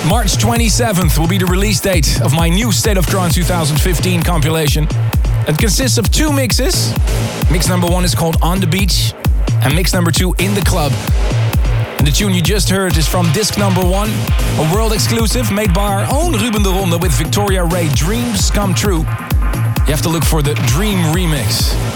March 27th will be the release date of my new State of Trance 2015 compilation. It consists of 2 mixes. Mix number 1 is called On the Beach, and mix number 2, In the Club. And the tune you just heard is from disc number 1, a world exclusive made by our own Ruben de Ronde with Victoria Ray, Dreams Come True. You have to look for the Dream Remix.